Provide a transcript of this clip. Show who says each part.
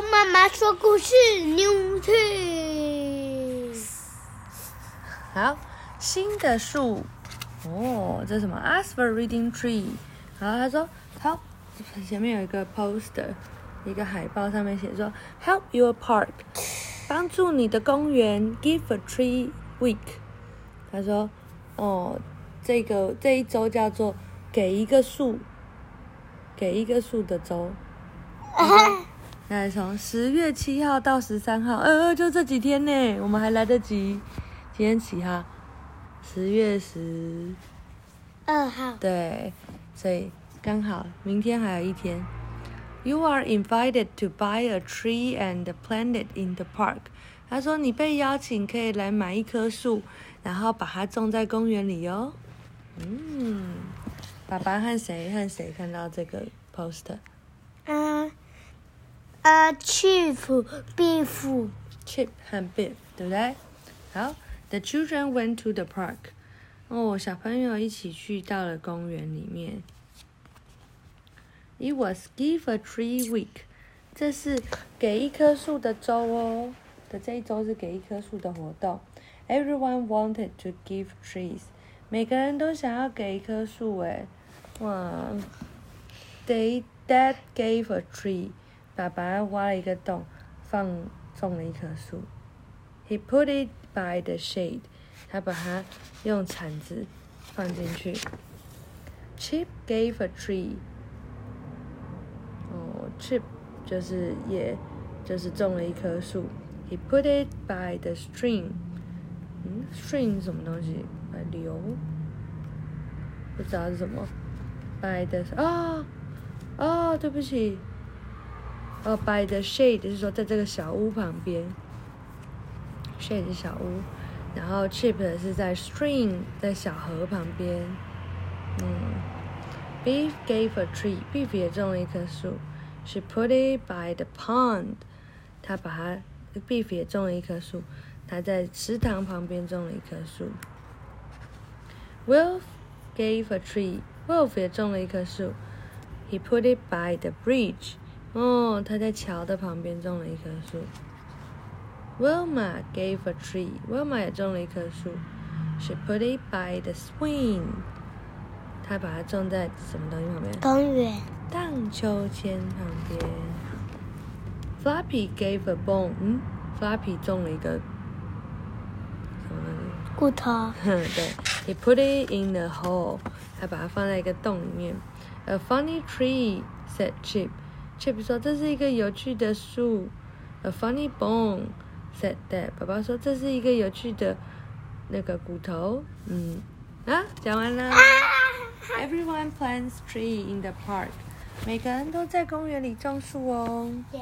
Speaker 1: 跟妈妈说故事 ，New Trees。
Speaker 2: 好，新的树。哦，这是什么 ？Ask for reading tree。然后他说，好，前面有一个 poster， 一个海报，上面写说 ，Help your park， 帮助你的公园 ，Give a tree week。他说，哦，这一周叫做给一个树的周。那从10月7号到13号，就这几天呢，我们还来得及。今天几号？10月12
Speaker 1: 号。
Speaker 2: 对，所以刚好明天还有一天。You are invited to buy a tree and plant it in the park。他说你被邀请可以来买一棵树，然后把它种在公园里哦。爸爸和谁看到这个 poster？ Chip 和 Biff， 对不对？好 ，The children went to the park。小朋友一起去到了公园里面。It was Give a Tree Week， 这是给一棵树的周哦。这一周是给一棵树的活动。Everyone wanted to give trees， 每个人都想要给一棵树诶。哇 Dad gave a tree， 爸爸挖了一个洞，种了一棵树。He put it by the shade， 他把它用铲子放进去。Chip gave a tree， Chip 就是种了一棵树。He put it by the stream，stream 是什么东西？流，不知道是什么。by the 对不起。by the shade 是说在这个小屋旁边。shade 是小屋，然后 chip 是在 stream 在小河旁边。Beef gave a tree， Beef 也种了一棵树。She put it by the pond， Beef 也种了一棵树，他在池塘旁边种了一棵树。Wolf gave a tree， Wolf 也种了一棵树。He put it by the bridge， 他在桥的旁边种了一棵树。Wilma gave a tree， Wilma 也种了一棵树。She put it by the swing， 她把它种在什么东西旁边？
Speaker 1: 公园。
Speaker 2: 荡秋千旁边。Floppy gave a bone， Floppy 种了一个什么东西？
Speaker 1: 骨头。
Speaker 2: 对 ，He put it in a hole， 他把它放在一个洞里面。A funny tree said Chip，Chip 说这是一个有趣的树。A funny bone said Dad， 爸爸说这是一个有趣的那个骨头。讲完了。Everyone plants tree in the park， 每个人都在公园里种树哦。